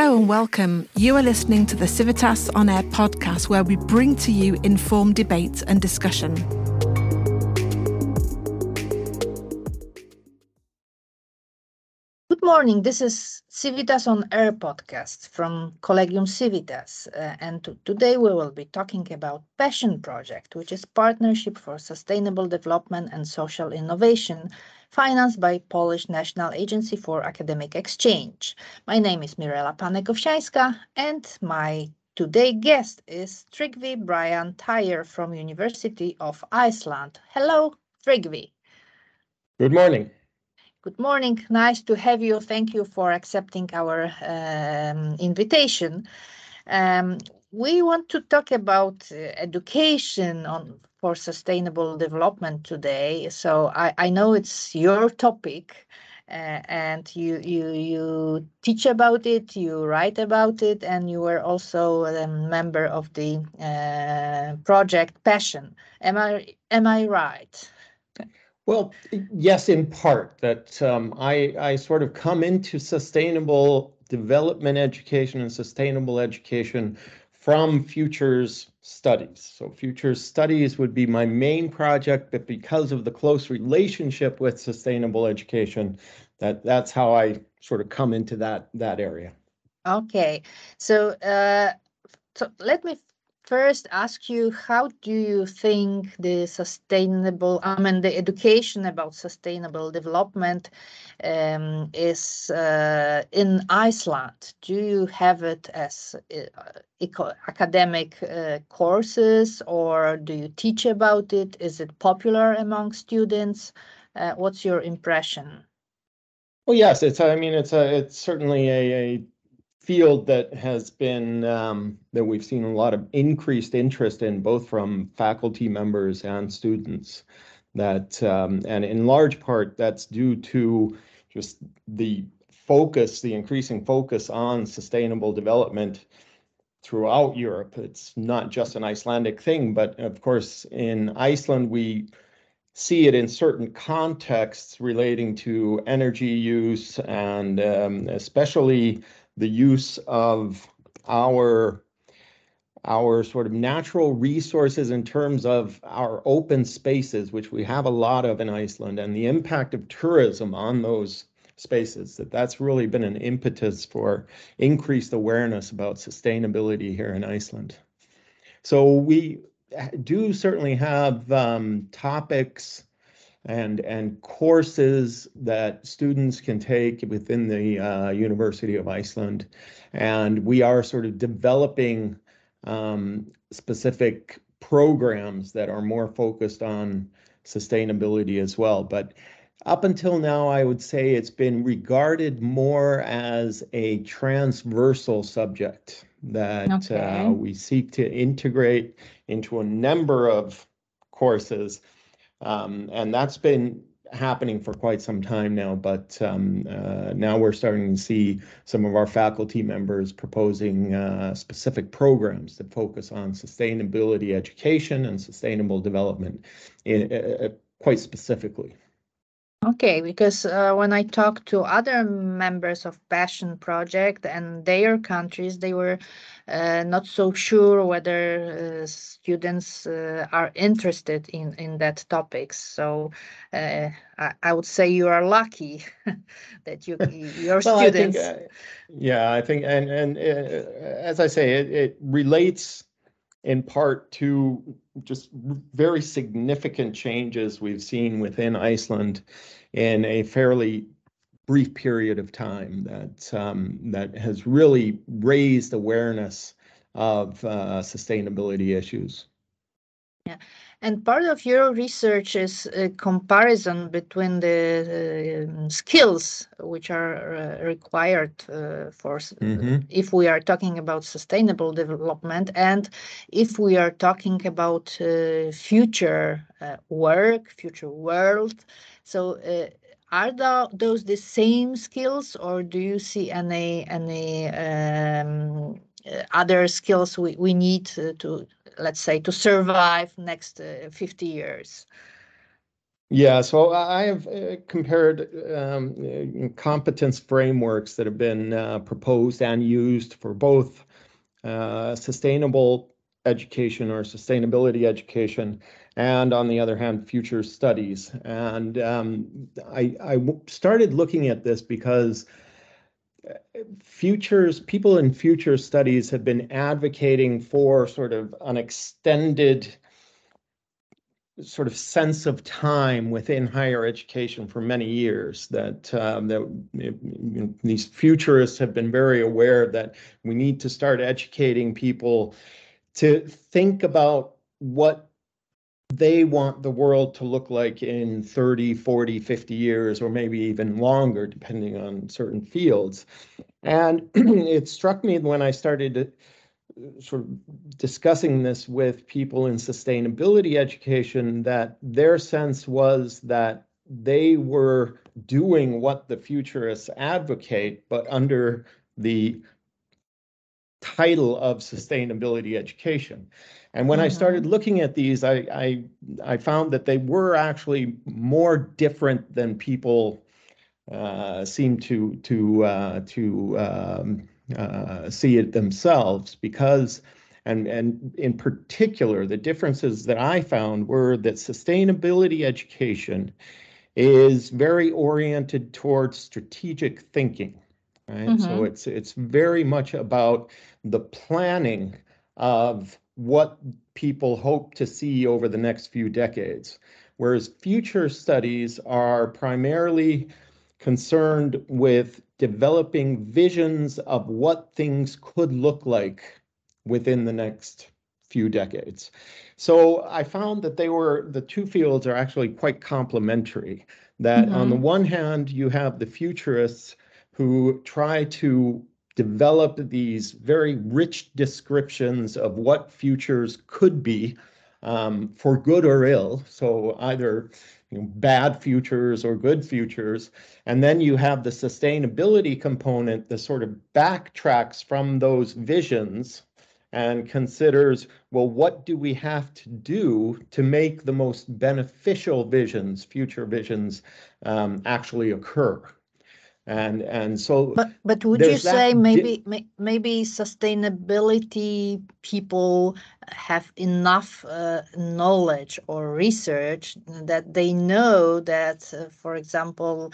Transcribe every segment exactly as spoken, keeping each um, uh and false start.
Hello and welcome. You are listening to the Civitas On Air podcast, where we bring to you informed debate and discussion. Good morning. This is Civitas On Air podcast from Collegium Civitas. Uh, and t- today we will be talking about PASSION project, which is Partnership for Sustainable Development and Social Innovation, financed by Polish National Agency for Academic Exchange. My name is Mirela Panek-Owsiańska, and my today guest is Tryggvi Brian Tyre from University of Iceland. Hello, Tryggvi. Good morning. Good morning. Nice to have you. Thank you for accepting our um, invitation. Um, we want to talk about uh, education on for sustainable development today. So I, I know it's your topic, uh, and you you you teach about it, you write about it, and you were also a member of the uh, project PASSION. Am I am I right? Well, yes, in part. That um, I, I sort of come into sustainable development education and sustainable education from futures studies. So futures studies would be my main project, but because of the close relationship with sustainable education, that that's how I sort of come into that that area. Okay, so uh, so let me first ask you, how do you think the sustainable, I mean, the education about sustainable development um, is uh, in Iceland? Do you have it as uh, eco- academic uh, courses, or do you teach about it? Is it popular among students? Uh, what's your impression? Well, yes, it's I mean it's a it's certainly a, a field that has been um, that we've seen a lot of increased interest in, both from faculty members and students. That um, and in large part that's due to just the focus, the increasing focus on sustainable development throughout Europe. It's not just an Icelandic thing, but of course in Iceland we see it in certain contexts relating to energy use, and um, especially the use of our our sort of natural resources in terms of our open spaces, which we have a lot of in Iceland, and the impact of tourism on those spaces. That that's really been an impetus for increased awareness about sustainability here in Iceland. So we do certainly have um, topics and and courses that students can take within the uh, University of Iceland, and we are sort of developing um, specific programs that are more focused on sustainability as well. But up until now, I would say it's been regarded more as a transversal subject that Okay. uh, we seek to integrate into a number of courses. Um, and that's been happening for quite some time now, but um, uh, now we're starting to see some of our faculty members proposing uh, specific programs that focus on sustainability education and sustainable development in, uh, quite specifically. Okay, because uh, when I talked to other members of PASSION project and their countries, they were uh, not so sure whether uh, students uh, are interested in, in that topics. So uh, I, I would say you are lucky that you your well, I think, students. uh, yeah, I think, and and uh, as I say, it, it relates in part to just very significant changes we've seen within Iceland in a fairly brief period of time that um, that has really raised awareness of uh, sustainability issues. Yeah, and part of your research is a comparison between the uh, skills which are uh, required uh, for s- Mm-hmm. if we are talking about sustainable development, and if we are talking about uh, future uh, work, future world. So, uh, are tho- those the same skills, or do you see any any um, uh, other skills we, we need to, to let's say to survive next uh, fifty years? Yeah, so I have uh, compared um, uh, competence frameworks that have been uh, proposed and used for both uh, sustainable education or sustainability education, and on the other hand, future studies. And um, I, I started looking at this because futures people in future studies have been advocating for sort of an extended sort of sense of time within higher education for many years, that um, that you know, these futurists have been very aware that we need to start educating people to think about what they want the world to look like in thirty, forty, fifty years, or maybe even longer, depending on certain fields. And it struck me when I started sort of discussing this with people in sustainability education that their sense was that they were doing what the futurists advocate, but under the title of sustainability education. And when mm-hmm. I started looking at these, I, I I found that they were actually more different than people uh, seem to to uh, to um, uh, see it themselves, because and and in particular the differences that I found were that sustainability education is very oriented towards strategic thinking, right? Mm-hmm. So it's it's very much about the planning of what people hope to see over the next few decades, whereas future studies are primarily concerned with developing visions of what things could look like within the next few decades. So I found that they were, the two fields are actually quite complementary. That mm-hmm. on the one hand, you have the futurists who try to develop these very rich descriptions of what futures could be, um, for good or ill. So either you know, bad futures or good futures. And then you have the sustainability component that sort of backtracks from those visions and considers, well, what do we have to do to make the most beneficial visions, future visions, um, actually occur? And and so, but but would you say maybe maybe sustainability people have enough uh, knowledge or research that they know that, uh, for example,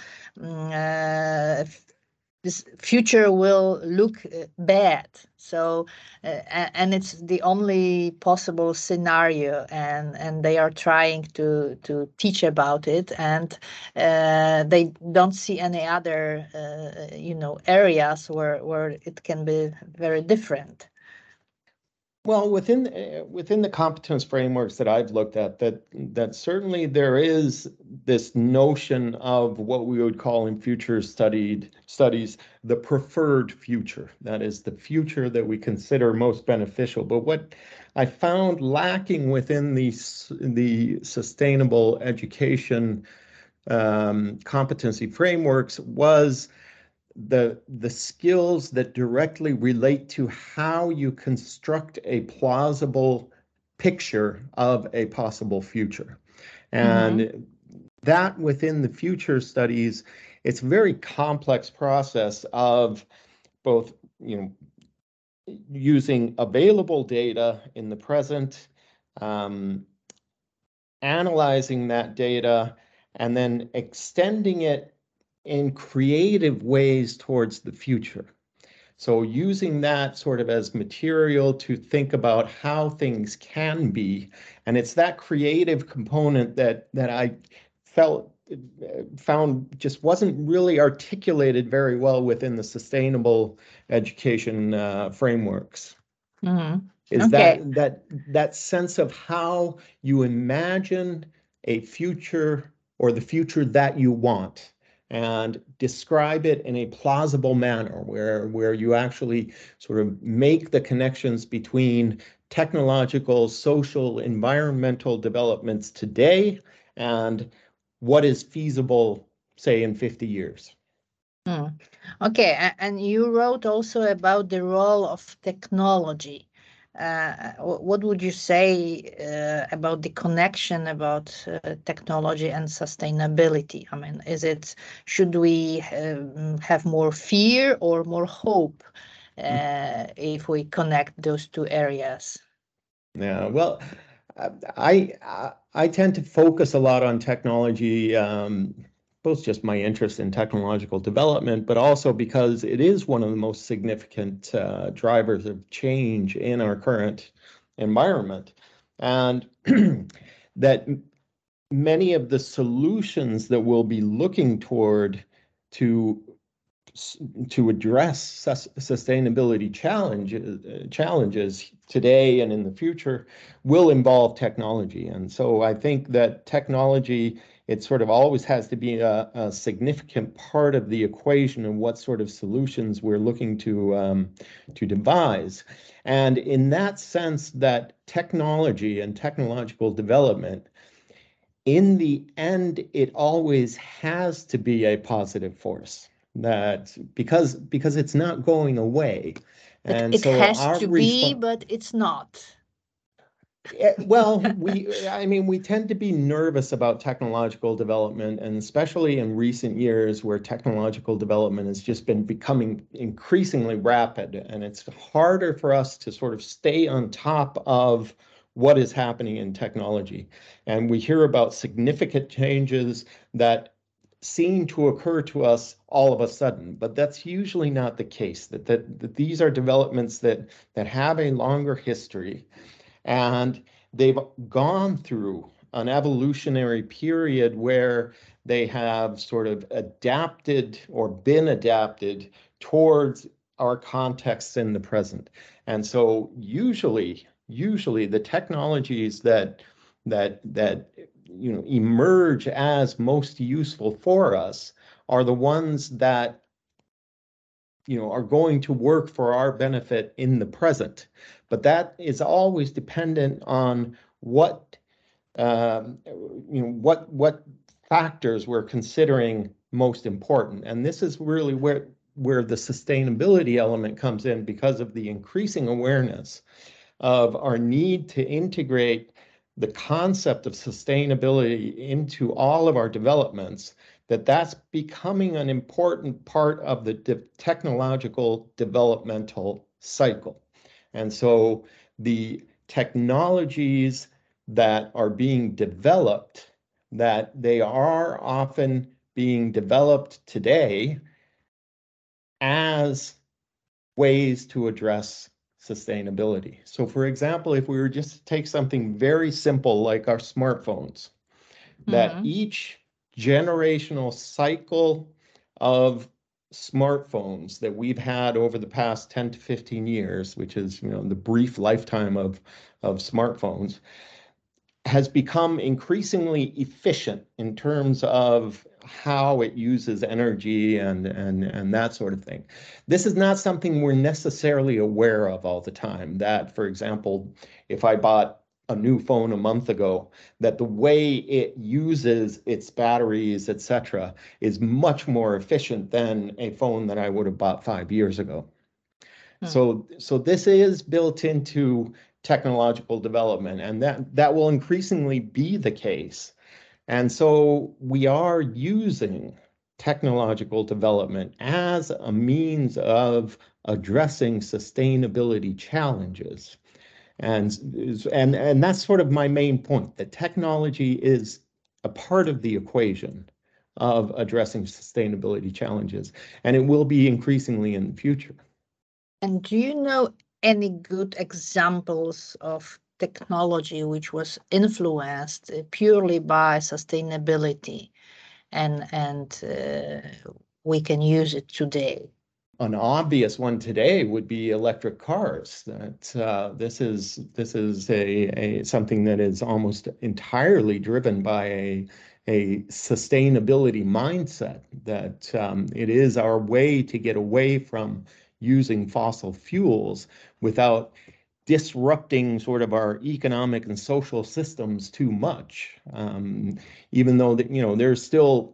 uh, this future will look uh, bad. So, uh, and it's the only possible scenario, and and they are trying to to teach about it, and uh, they don't see any other uh, you know areas where where it can be very different. Well, within uh, within the competence frameworks that I've looked at, that that certainly there is this notion of what we would call in future studied studies the preferred future. That is the future that we consider most beneficial. But what I found lacking within the the sustainable education um, competency frameworks was the the skills that directly relate to how you construct a plausible picture of a possible future. And mm-hmm. that within the future studies, it's a very complex process of both, you know, using available data in the present, um, analyzing that data, and then extending it in creative ways towards the future. So using that sort of as material to think about how things can be. And it's that creative component that that I felt found just wasn't really articulated very well within the sustainable education uh, frameworks. Mm-hmm. Is okay. that that that sense of how you imagine a future or the future that you want, and describe it in a plausible manner where, where you actually sort of make the connections between technological, social, environmental developments today and what is feasible, say, in fifty years. Hmm. Okay, and you wrote also about the role of technology. uh, wh- what would you say uh, about the connection about uh, technology and sustainability? I mean, is it, should we um, have more fear or more hope uh, if we connect those two areas? Yeah, well, I, I I tend to focus a lot on technology, um, both just my interest in technological development, but also because it is one of the most significant uh, drivers of change in our current environment, and that many of the solutions that we'll be looking toward to to address sus sustainability challenges, uh, challenges today and in the future will involve technology. And so I think that technology, it sort of always has to be a, a significant part of the equation of what sort of solutions we're looking to, um, to devise. And in that sense, that technology and technological development, in the end, it always has to be a positive force, that because because it's not going away. It, And it so has our to be, response, but it's not. well, we, I mean, we tend to be nervous about technological development, and especially in recent years where technological development has just been becoming increasingly rapid, and it's harder for us to sort of stay on top of what is happening in technology. And we hear about significant changes that seem to occur to us all of a sudden, but that's usually not the case, that, that, that these are developments that, that have a longer history, and they've gone through an evolutionary period where they have sort of adapted or been adapted towards our contexts in the present. And so usually, usually the technologies that that that you know emerge as most useful for us are the ones that you know are going to work for our benefit in the present. But that is always dependent on what um, you know what what factors we're considering most important. And this is really where where the sustainability element comes in, because of the increasing awareness of our need to integrate the concept of sustainability into all of our developments, that that's becoming an important part of the de technological developmental cycle. And so the technologies that are being developed, that they are often being developed today as ways to address sustainability. So for example, if we were just to take something very simple like our smartphones, that Mhm. each generational cycle of smartphones that we've had over the past ten to fifteen years, which is, you know, the brief lifetime of, of smartphones, has become increasingly efficient in terms of how it uses energy and, and, and that sort of thing. This is not something we're necessarily aware of all the time. That, for example, if I bought a new phone a month ago, that the way it uses its batteries, et cetera, is much more efficient than a phone that I would have bought five years ago. Hmm. So, so this is built into technological development, and that, that will increasingly be the case. And so we are using technological development as a means of addressing sustainability challenges. And, and, and that's sort of my main point, that technology is a part of the equation of addressing sustainability challenges, and it will be increasingly in the future. And do you know any good examples of technology which was influenced uh, purely by sustainability, and and uh, we can use it today? An obvious one today would be electric cars. That uh, this is this is a, a something that is almost entirely driven by a a sustainability mindset. That um, it is our way to get away from using fossil fuels without disrupting sort of our economic and social systems too much. Um, even though that you know there's still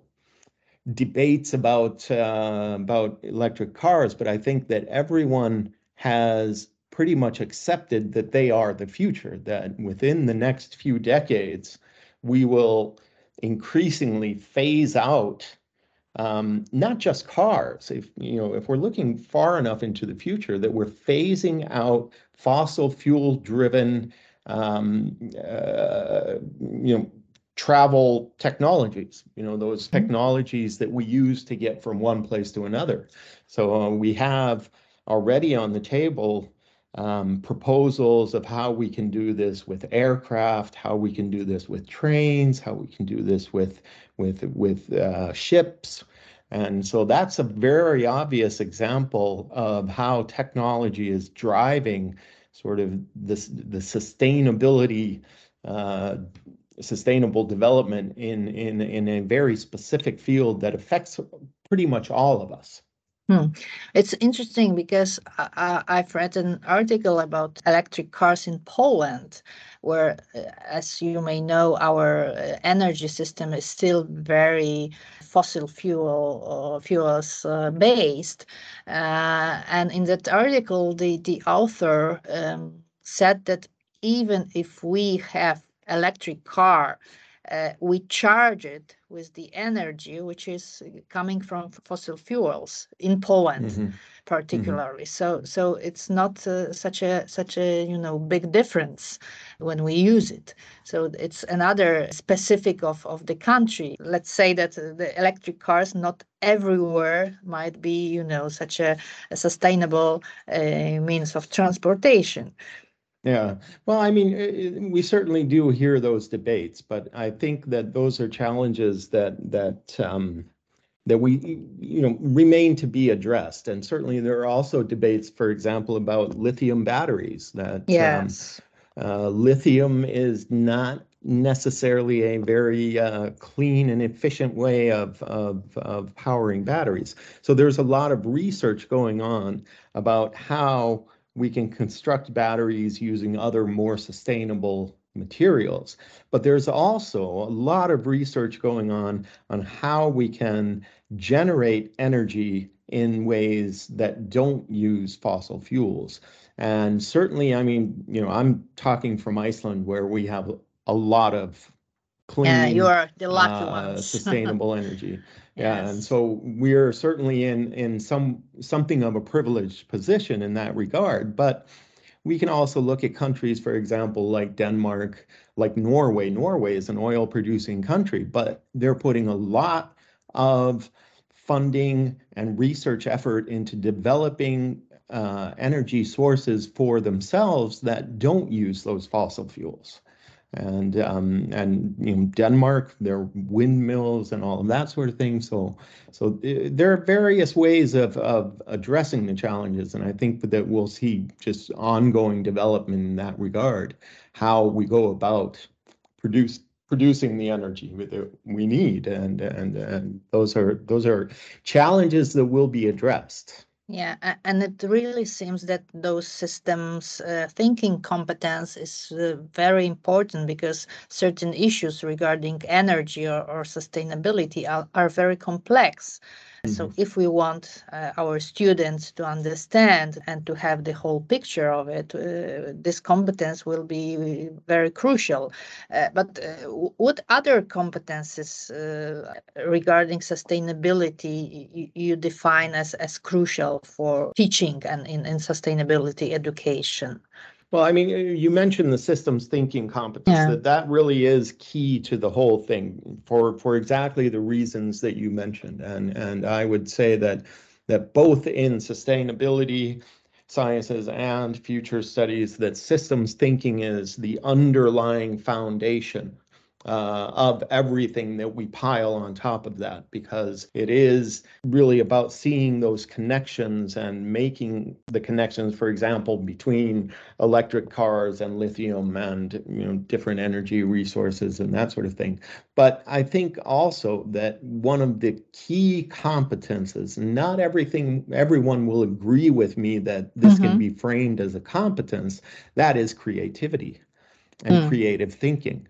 debates about uh, about electric cars, but I think that everyone has pretty much accepted that they are the future, that within the next few decades, we will increasingly phase out um, not just cars. If you know, if we're looking far enough into the future, that we're phasing out fossil fuel driven, um, uh, you know, travel technologies. You know, those technologies that we use to get from one place to another. So uh, we have already on the table um, proposals of how we can do this with aircraft, how we can do this with trains, how we can do this with with with uh, ships. And so that's a very obvious example of how technology is driving sort of this the sustainability, uh, sustainable development in in in a very specific field that affects pretty much all of us. Hmm. It's interesting because I, I've read an article about electric cars in Poland, where, uh, as you may know, our uh, energy system is still very fossil fuel uh, fuels uh, based. Uh, and in that article, the the author um, said that even if we have electric car, uh, we charge it with the energy which is coming from fossil fuels in Poland, mm-hmm. particularly. Mm-hmm. So, so it's not uh, such a such a you know big difference when we use it. So it's another specific of of the country. Let's say that the electric cars not everywhere might be you know such a, a sustainable uh, means of transportation. Yeah, well, I mean, we certainly do hear those debates, but I think that those are challenges that that um, that we, you know, remain to be addressed. And certainly there are also debates, for example, about lithium batteries. That yes, um, uh, lithium is not necessarily a very uh, clean and efficient way of, of of powering batteries. So there's a lot of research going on about how we can construct batteries using other more sustainable materials. But there's also a lot of research going on on how we can generate energy in ways that don't use fossil fuels. And certainly, I mean, you know, I'm talking from Iceland, where we have a lot of clean, yeah, you are the lucky uh, ones. sustainable energy. Yeah, Yes. and so we're certainly in in some something of a privileged position in that regard. But we can also look at countries, for example, like Denmark, like Norway. Norway is an oil producing country, but they're putting a lot of funding and research effort into developing uh, energy sources for themselves that don't use those fossil fuels. And um, and you know, Denmark, there are windmills and all of that sort of thing. So so there are various ways of of addressing the challenges, and I think that we'll see just ongoing development in that regard, how we go about produce producing the energy that we need, and and and those are those are challenges that will be addressed. Yeah, and it really seems that those systems uh, thinking competence is uh, very important, because certain issues regarding energy or, or sustainability are, are very complex. Mm-hmm. So if we want uh, our students to understand and to have the whole picture of it, uh, this competence will be very crucial. Uh, but uh, what other competences uh, regarding sustainability you, you define as, as crucial for teaching and in, in sustainability education? Well, I mean, you mentioned the systems thinking competence. Yeah. That that really is key to the whole thing, for for exactly the reasons that you mentioned. And and I would say that that both in sustainability sciences and future studies, that systems thinking is the underlying foundation Uh, of everything that we pile on top of that, because it is really about seeing those connections and making the connections, for example, between electric cars and lithium and, you know, different energy resources and that sort of thing. But I think also that one of the key competences, not everything, everyone will agree with me that this mm-hmm. can be framed as a competence, that is creativity and mm. creative thinking.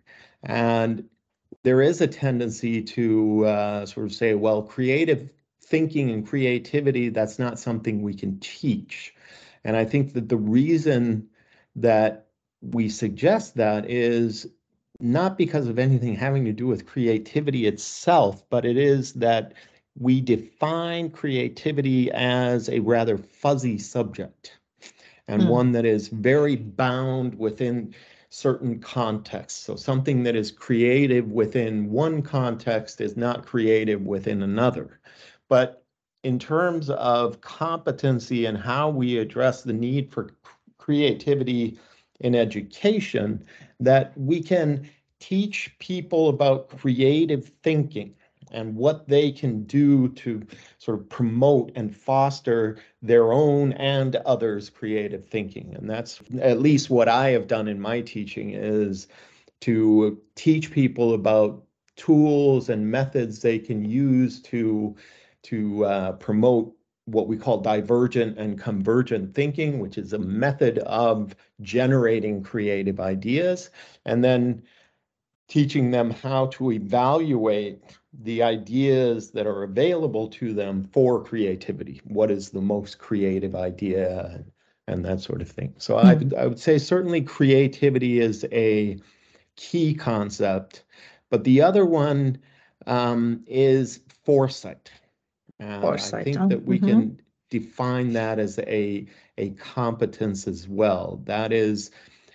And there is a tendency to uh, sort of say, well, creative thinking and creativity, that's not something we can teach. And I think that the reason that we suggest that is not because of anything having to do with creativity itself, but it is that we define creativity as a rather fuzzy subject, and Mm. one that is very bound within certain contexts. So something that is creative within one context is not creative within another. But in terms of competency and how we address the need for creativity in education, that we can teach people about creative thinking and what they can do to sort of promote and foster their own and others' creative thinking. And that's at least what I have done in my teaching, is to teach people about tools and methods they can use to, to uh, promote what we call divergent and convergent thinking, which is a method of generating creative ideas, and then teaching them how to evaluate the ideas that are available to them for creativity. What is the most creative idea, and, and that sort of thing. So I, Mm. I would say certainly creativity is a key concept, but the other one um, is foresight. And I Foresight. think Huh? that we Mhm. can define that as a, a competence as well. That is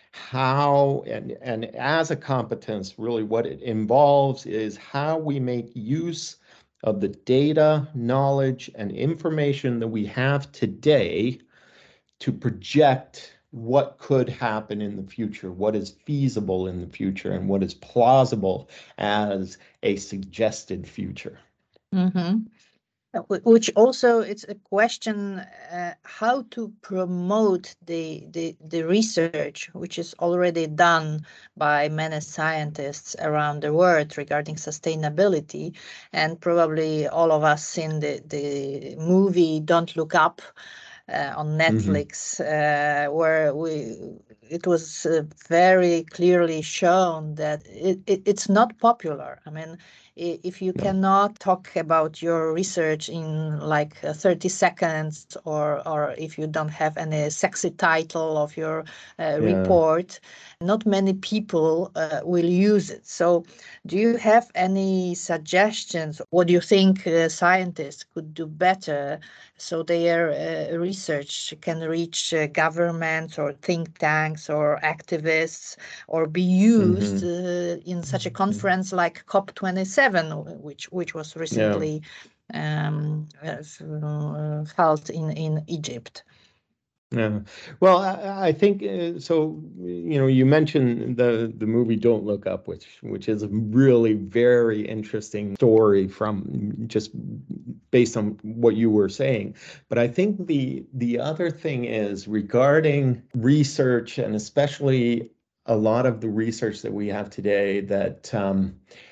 how, and, and as a competence, really what it involves is how we make use of the data, knowledge, and information that we have today to project what could happen in the future, what is feasible in the future, and what is plausible as a suggested future. Mhm. Uh, wh- Which also it's a question uh, how to promote the, the the research which is already done by many scientists around the world regarding sustainability, and probably all of us seen the the movie Don't Look Up uh, on Netflix, uh, where we it was uh, very clearly shown that it, it, it's not popular. I mean, i- if you No. cannot talk about your research in like uh, thirty seconds, or or if you don't have any sexy title of your uh, Yeah. report, not many people uh, will use it. So do you have any suggestions? What do you think uh, scientists could do better so their uh, research can reach uh, governments or think tanks or activists, or be used Mhm. uh, in such a conference like COP twenty-seven, which which was Yeah. recently um, uh, held in, in Egypt? Yeah. Well, I, I think uh, so. You know, you mentioned the the movie Don't Look Up, which which is a really very interesting story from just based on what you were saying. But I think the the other thing is regarding research, and especially a lot of the research that we have today that um,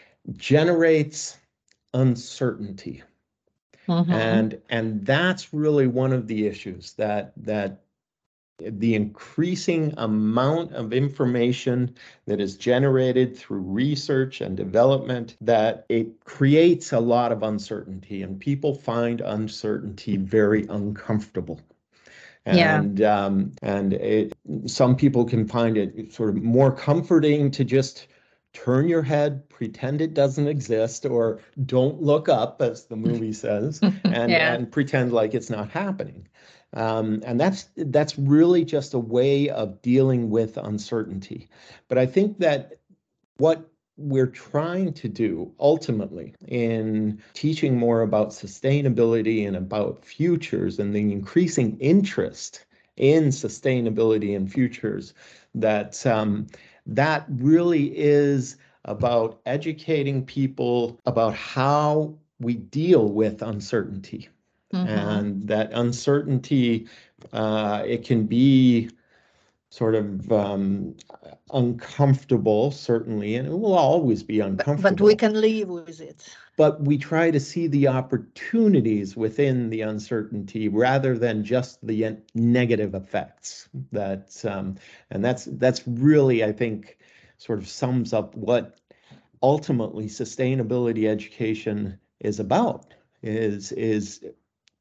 generates uncertainty. Mhm. And and that's really one of the issues, that that the increasing amount of information that is generated through research and development, that it creates a lot of uncertainty, and people find uncertainty very uncomfortable. Yeah. And um, and it, some people can find it sort of more comforting to just turn your head, pretend it doesn't exist, or don't look up, as the movie says, and Yeah. and pretend like it's not happening. Um, and that's that's really just a way of dealing with uncertainty. But I think that what we're trying to do ultimately in teaching more about sustainability and about futures, and the increasing interest in sustainability and futures, that um, that really is about educating people about how we deal with uncertainty. Mhm. And that uncertainty, uh, it can be sort of um, uncomfortable, certainly, and it will always be But, but uncomfortable. we can live with it. But we try to see the opportunities within the uncertainty rather than just the negative effects. That um, and that's that's really, I think, sort of sums up what ultimately sustainability education is about. Is is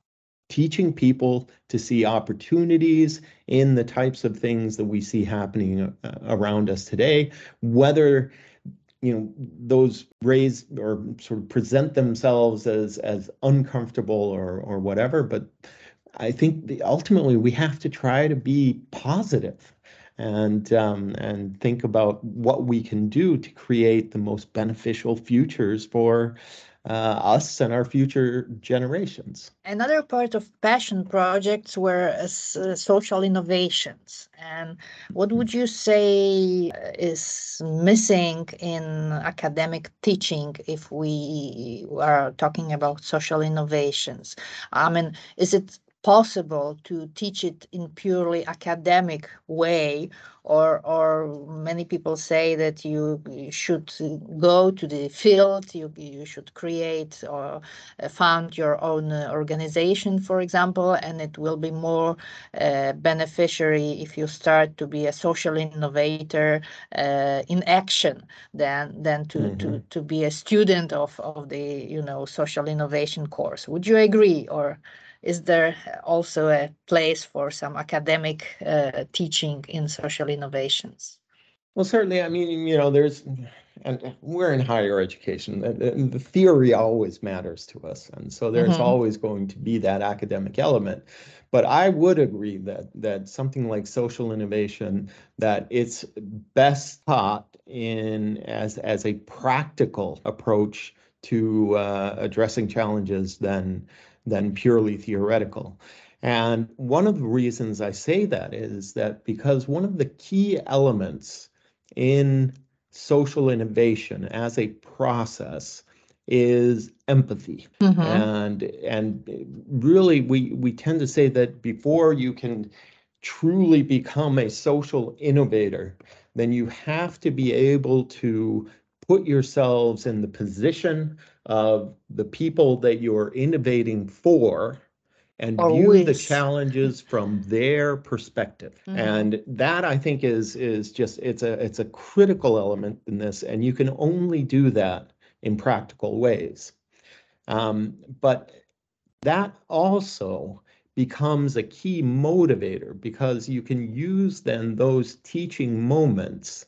teaching people to see opportunities in the types of things that we see happening uh, around us today, whether you know those raise or sort of present themselves as as uncomfortable or or whatever. But I think the, ultimately we have to try to be positive and um, and think about what we can do to create the most beneficial futures for uh, us and our future generations. Another part of passion projects were uh, s- uh, social innovations. And what would you say uh, is missing in academic teaching if we are talking about social innovations? I mean, is it possible to teach it in purely academic way, or or many people say that you, you should go to the field, you you should create or uh, found your own uh, organization, for example, and it will be more uh, beneficiary if you start to be a social innovator uh, in action than than to Mm-hmm. to to be a student of of the you know social innovation course. Would you agree, or is there also a place for some academic uh, teaching in social innovations? Well, certainly. I mean, you know, there's, and we're in higher education. The, the theory always matters to us, and so there's Mhm. always going to be that academic element. But I would agree that that something like social innovation, that it's best taught in as as a practical approach to uh, addressing challenges than than purely theoretical. And one of the reasons I say that is that because one of the key elements in social innovation as a process is empathy. Mhm. And and really we we tend to say that before you can truly become a social innovator, then you have to be able to put yourselves in the position of the people that you're innovating for and Or view the with. challenges from their perspective. Mhm. And that I think is is just it's a it's a critical element in this, and you can only do that in practical ways. Um, but that also becomes a key motivator because you can use then those teaching moments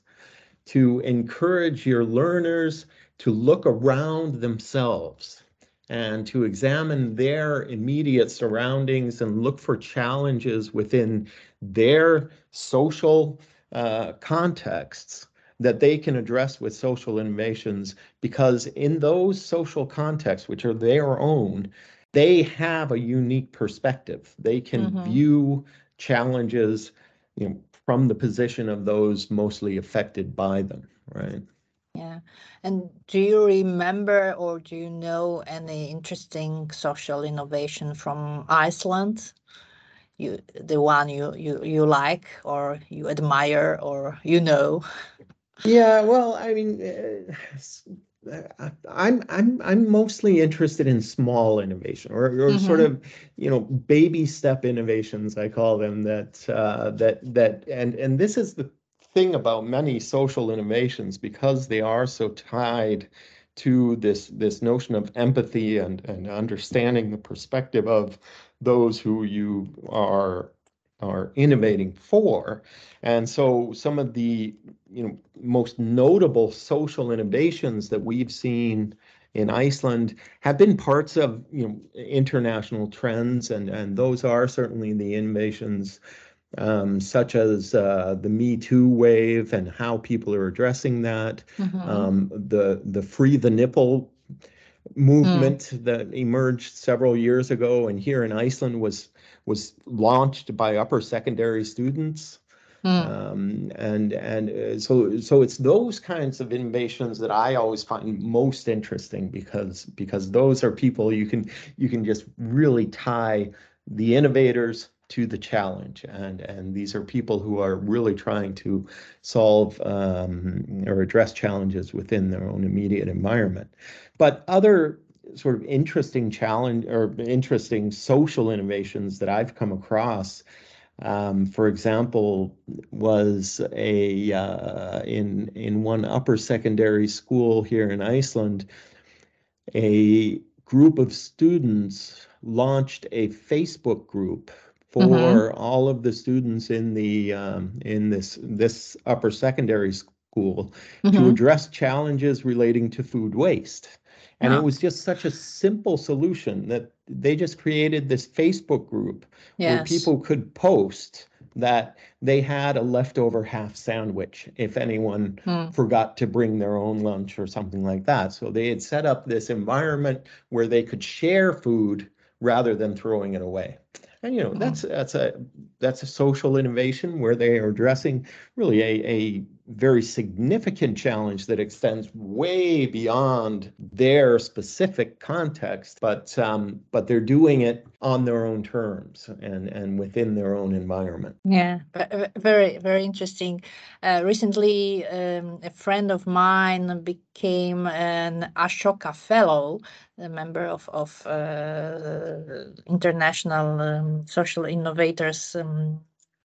to encourage your learners to look around themselves and to examine their immediate surroundings and look for challenges within their social uh, contexts that they can address with social innovations, because in those social contexts, which are their own, they have a unique perspective. They can Mhm. view challenges, you know, from the position of those mostly affected by them, right? Yeah. And do you remember or do you know any interesting social innovation from Iceland? You, the one you, you, you like or you admire or you know? Yeah, well, I mean, uh, s- uh, I'm I'm I'm mostly interested in small innovation, or or sort Mhm. of, you know, baby step innovations, I call them, that uh, that that and and this is the thing about many social innovations, because they are so tied to this this notion of empathy and and understanding the perspective of those who you are are innovating for. And so some of the, you know, most notable social innovations that we've seen in Iceland have been parts of, you know, international trends, and and those are certainly the innovations, um, such as uh, the Me Too wave and how people are addressing that, Mhm. um, the the Free the Nipple movement that emerged several years ago, and here in Iceland was was launched by upper secondary students. Mm. Um, and and uh, so so it's those kinds of innovations that I always find most interesting, because because those are people you can you can just really tie the innovators to the challenge, and and these are people who are really trying to solve um, or address challenges within their own immediate environment. But other sort of interesting challenge or interesting social innovations that I've come across, um, for example, was a uh, in in one upper secondary school here in Iceland, a group of students launched a Facebook group for Mm-hmm. all of the students in the um, in this this upper secondary school to Mm-hmm. address challenges relating to food waste. And it Oh, was just such a simple solution that they just created this Facebook group where yes. people could post that they had a leftover half sandwich if anyone Mm. forgot to bring their own lunch or something like that. So they had set up this environment where they could share food rather than throwing it away. And you know, that's Mm. that's a that's a social innovation where they are addressing really a, a very significant challenge that extends way beyond their specific context, but um, but they're doing it on their own terms and and within their own environment. Yeah, ve- ve- very, very interesting. Uh, recently, um, a friend of mine became an Ashoka Fellow, a member of of uh, International um, Social Innovators um,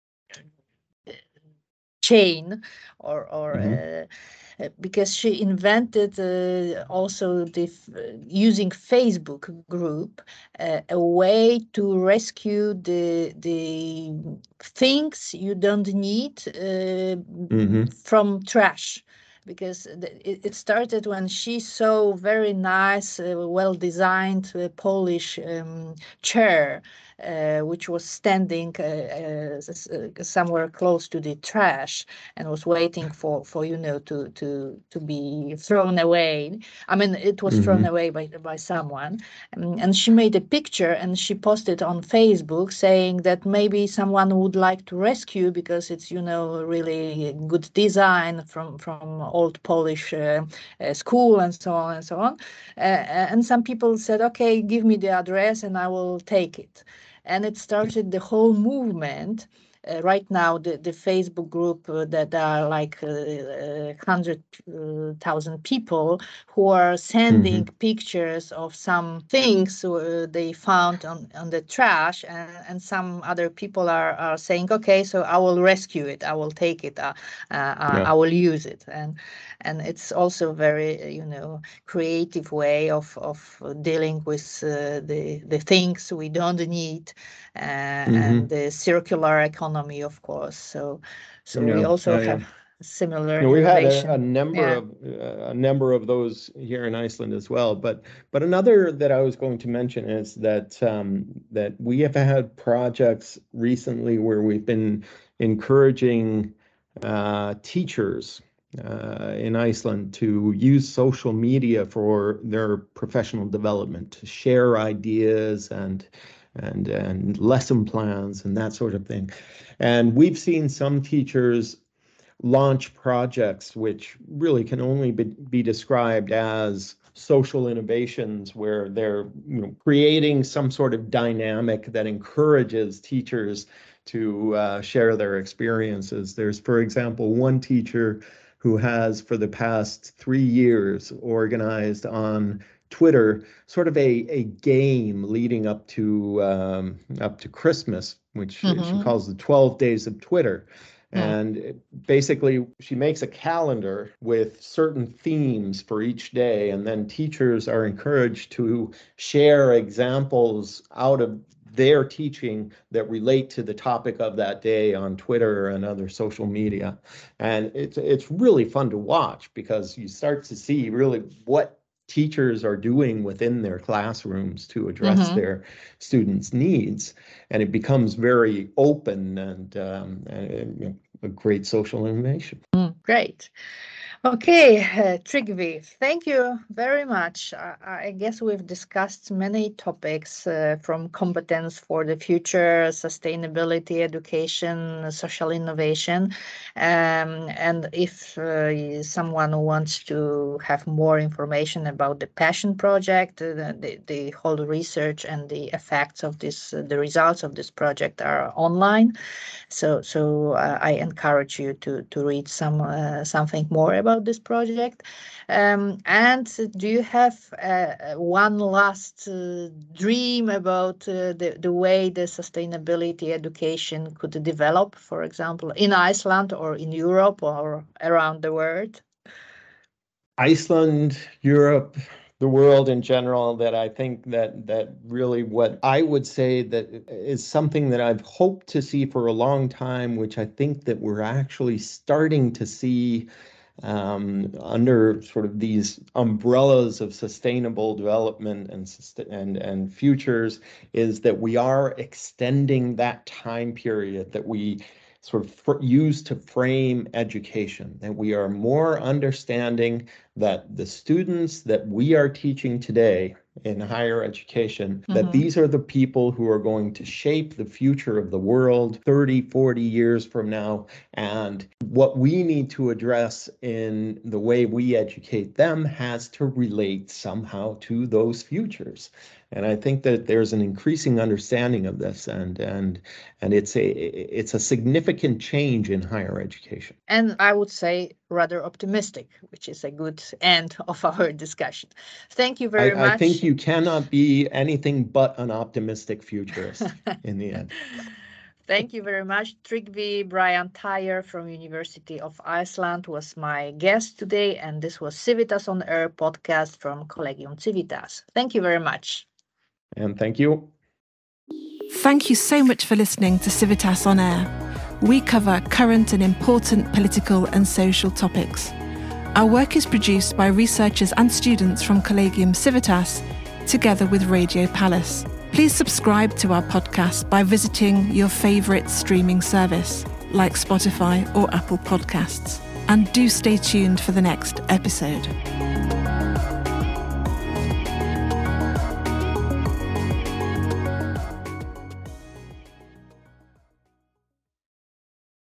chain, or or Mhm. uh, uh, because she invented uh, also the f- uh, using Facebook group uh, a way to rescue the the things you don't need uh, Mhm. from trash. Because the- it, it started when she saw very nice, uh, well designed uh, Polish um, chair, uh, which was standing uh, uh, s- uh, somewhere close to the trash and was waiting for, for you know to to to be thrown away. I mean, it was thrown Mhm. away by by someone, um, and she made a picture and she posted on Facebook saying that maybe someone would like to rescue because it's you know really good design from from old Polish uh, uh, school and so on and so on. Uh, and some people said, okay, give me the address and I will take it. And it started the whole movement. Uh, right now, the, the Facebook group uh, that are like uh, uh, hundred uh, thousand people who are sending Mhm. pictures of some things uh, they found on, on the trash, and, and some other people are, are saying, okay, so I will rescue it, I will take it, uh, uh, uh, Yeah. I will use it, and and it's also very uh, you know creative way of of dealing with uh, the the things we don't need, uh, and Mhm. the circular economy, of course. So, so we Yeah. also Yeah. Yeah. have similar No, we've had a, a innovation. number Yeah. of uh, a number of those here in Iceland as well. But but another that I was going to mention is that um, that we have had projects recently where we've been encouraging uh, teachers uh, in Iceland to use social media for their professional development, to share ideas and and and lesson plans and that sort of thing. And we've seen some teachers launch projects which really can only be, be described as social innovations where they're you know, creating some sort of dynamic that encourages teachers to uh, share their experiences. There's, for example, one teacher who has for the past three years organized on Twitter sort of a, a game leading up to um, up to Christmas, which she Mm-hmm. calls the twelve days of Twitter. Mm. And basically, she makes a calendar with certain themes for each day, and then teachers are encouraged to share examples out of their teaching that relate to the topic of that day on Twitter and other social media. And it's it's really fun to watch because you start to see really what teachers are doing within their classrooms to address Mm-hmm. their students' needs, and it becomes very open and, um, and you know, a great social innovation. Mm. Great. Okay, uh, Trygve, thank you very much. I, I guess we've discussed many topics uh, from competence for the future, sustainability, education, social innovation. Um, and if uh, someone wants to have more information about the Passion Project, uh, the, the whole research and the effects of this, uh, the results of this project are online. So, so uh, I encourage you to to read some uh, something more about this project. Um, and do you have uh, one last uh, dream about uh, the the way the sustainability education could develop, for example, in Iceland or in Europe or around the world? Iceland, Europe, the world in general, that I think that that really what I would say that is something that I've hoped to see for a long time, which I think that we're actually starting to see um, under sort of these umbrellas of sustainable development and and and futures, is that we are extending that time period that we sort of fr- use to frame education, that we are more understanding that the students that we are teaching today in higher education, mm-hmm. that these are the people who are going to shape the future of the world thirty, forty years from now. And what we need to address in the way we educate them has to relate somehow to those futures. And I think that there's an increasing understanding of this, and and and it's a it's a significant change in higher education. And I would say rather optimistic, which is a good end of our discussion. Thank you very I, much. I think you cannot be anything but an optimistic futurist in the end. Thank you very much. Tryggvi Brian Tyre from University of Iceland was my guest today, and this was Civitas on Air podcast from Collegium Civitas. Thank you very much. And thank you. Thank you so much for listening to Civitas on Air. We cover current and important political and social topics. Our work is produced by researchers and students from Collegium Civitas, together with Radio Palace. Please subscribe to our podcast by visiting your favourite streaming service, like Spotify or Apple Podcasts. And do stay tuned for the next episode.